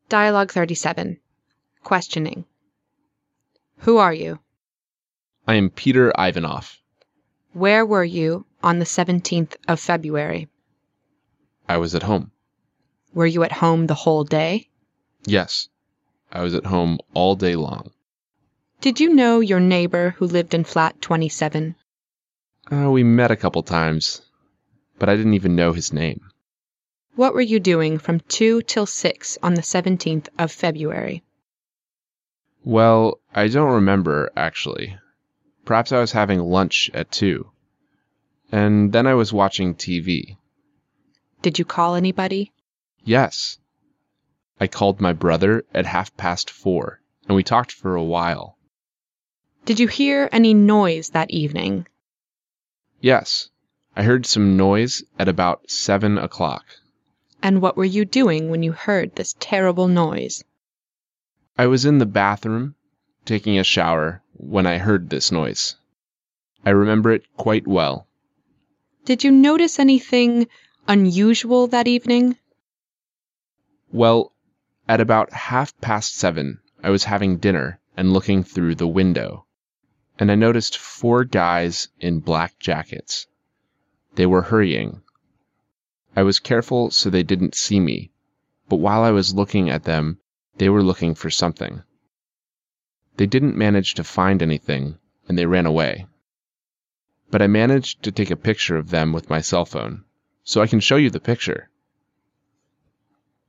Dialogue 37. Questioning. Who are you? I am Peter Ivanov. Where were you on the 17th of February? I was at home. Were you at home the whole day? Yes, I was at home all day long. Did you know your neighbor who lived in flat 27? We met a couple times, but I didn't even know his name. What were you doing from 2 till 6 on the 17th of February? Well, I don't remember, actually. Perhaps I was having lunch at 2. And then I was watching TV. Did you call anybody? Yes. I called my brother at 4:30, and we talked for a while. Did you hear any noise that evening? Yes, I heard some noise at about 7 o'clock. And what were you doing when you heard this terrible noise? I was in the bathroom, taking a shower, when I heard this noise. I remember it quite well. Did you notice anything unusual that evening? Well, at about 7:30, I was having dinner and looking through the window, and I noticed 4 guys in black jackets. They were hurrying. I was careful so they didn't see me, but while I was looking at them, they were looking for something. They didn't manage to find anything, and they ran away. But I managed to take a picture of them with my cell phone, so I can show you the picture.